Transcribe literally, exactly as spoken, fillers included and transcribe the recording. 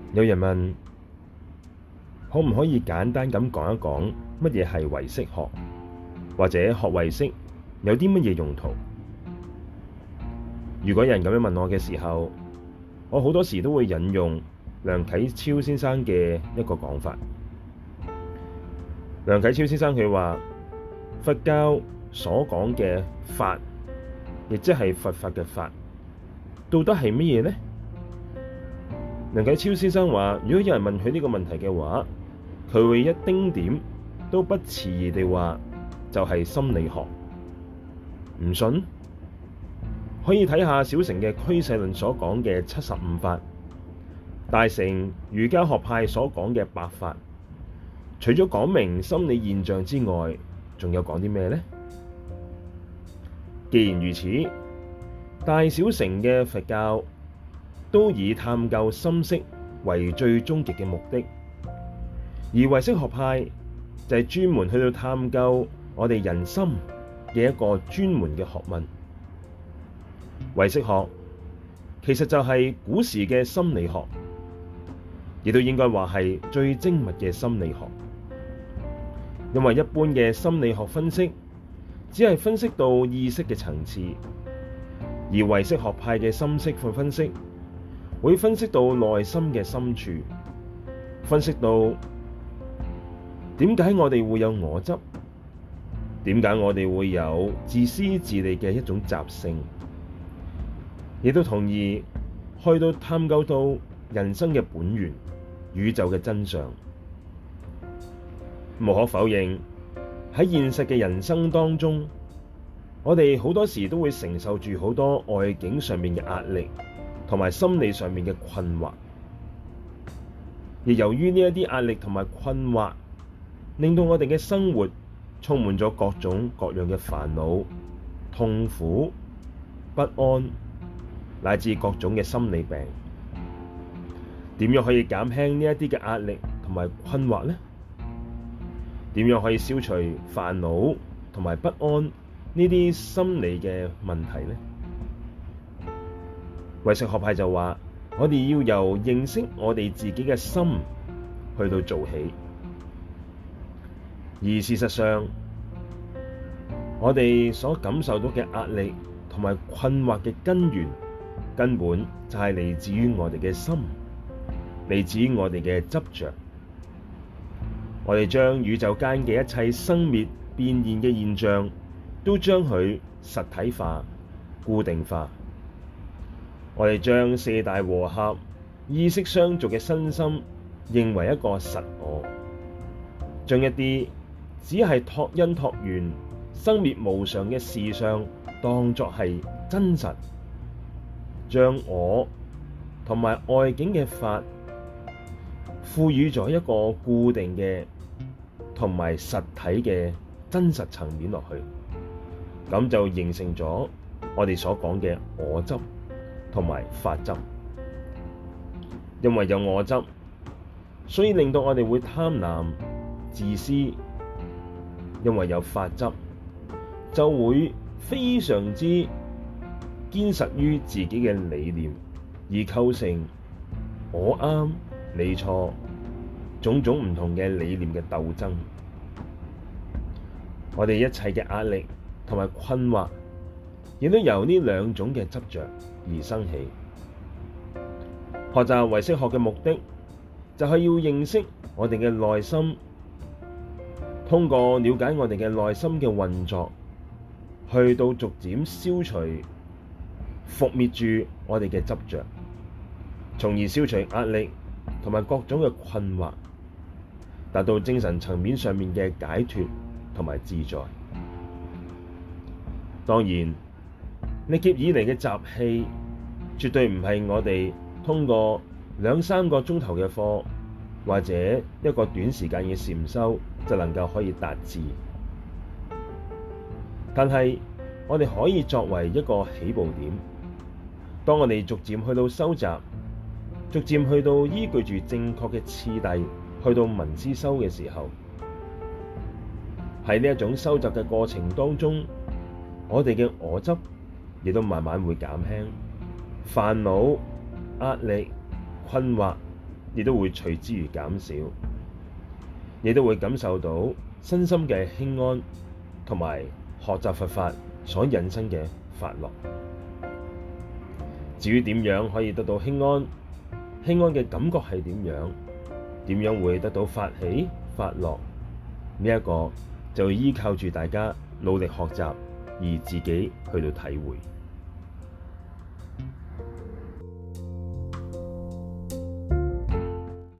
有人問，可唔可以簡單咁講一講乜嘢係唯識學，或者學唯識有啲乜嘢用途？如果有人咁樣問我嘅時候，我好多時都會引用梁啟超先生嘅一個講法。梁啟超先生佢話，佛教所講嘅法，亦即係佛法嘅法，到底係乜嘢呢？梁啟超先生話，如果有人問佢呢個問題嘅話，佢會一丁點都不遲疑地話，就係心理學。唔信？可以睇下小乘嘅俱舍論所講嘅七十五法，大乘瑜伽學派所講嘅八法，除咗講明心理現象之外，仲有講啲咩呢？既然如此，大小乘嘅佛教都以探究心識為最終極嘅目的，而唯識學派就係專門去到探究我哋人心嘅一個專門嘅學問。唯識學其實就係古時嘅心理學，亦都應該話係最精密嘅心理學。因為一般嘅心理學分析只係分析到意識嘅層次，而唯識學派嘅心識分析會分析到內心嘅深處，分析到點解我哋會有我執，點解我哋會有自私自利嘅一種習性，亦都同意去到探究到人生嘅本源、宇宙嘅真相。無可否認，喺現實嘅人生當中，我哋好多時都會承受住好多外境上面嘅壓力，同埋心理上面嘅困惑。而由於呢一啲壓力同埋困惑，令到我哋嘅生活充滿咗各種各樣嘅煩惱、痛苦、不安，乃至各種嘅心理病。點樣可以減輕呢一啲嘅壓力同埋困惑呢？點樣可以消除煩惱同埋不安呢啲心理嘅問題呢？唯識學派就話，我哋要由認識我哋自己嘅心去到做起。而事實上，我哋所感受到嘅壓力同埋困惑嘅根源，根本就係嚟自於我哋嘅心，嚟自於我哋嘅執着。我哋將宇宙間嘅一切生滅變現嘅現象，都將佢實體化、固定化。我哋將四大和合、意識相續嘅身心認為一個實我，將一啲只係託因託緣、生滅無常嘅事相當作係真實，將我同埋外境嘅法賦予咗一個固定嘅同埋實體嘅真實層面落去，咁就形成咗我哋所講嘅我執同埋法執。因為有我執，所以令到我哋會貪婪、自私；因為有法執，就會非常之堅實於自己嘅理念，而構成我啱你錯種種唔同嘅理念嘅鬥爭。我哋一切嘅壓力同埋困惑，亦都由呢兩種嘅執着而生起。學習唯識學嘅目的，就係要認識我哋嘅內心，通過了解我哋嘅內心嘅運作，去到逐漸消除、伏滅住我哋嘅執着，從而消除壓力同埋各種嘅困惑，達到精神層面上面嘅解脫同埋自在。當然，歷劫以嚟嘅習氣，絕對唔係我哋通過兩三個鐘頭嘅課，或者一個短時間嘅禪修就能夠可以達至。但係我哋可以作為一個起步點，當我哋逐漸去到收集，逐漸去到依據住正確嘅次第去到聞思修嘅時候，喺呢一種收集嘅過程當中，我哋嘅我執亦都慢慢會減輕，煩惱、壓力、困惑亦都會隨之而減少，亦都會感受到身心嘅輕安，同埋學習佛法所引申嘅法樂。至於點樣可以得到輕安，輕安嘅感覺係點樣？點樣會得到法喜法樂？呢、這、一個就依靠住大家努力學習而自己去到體會。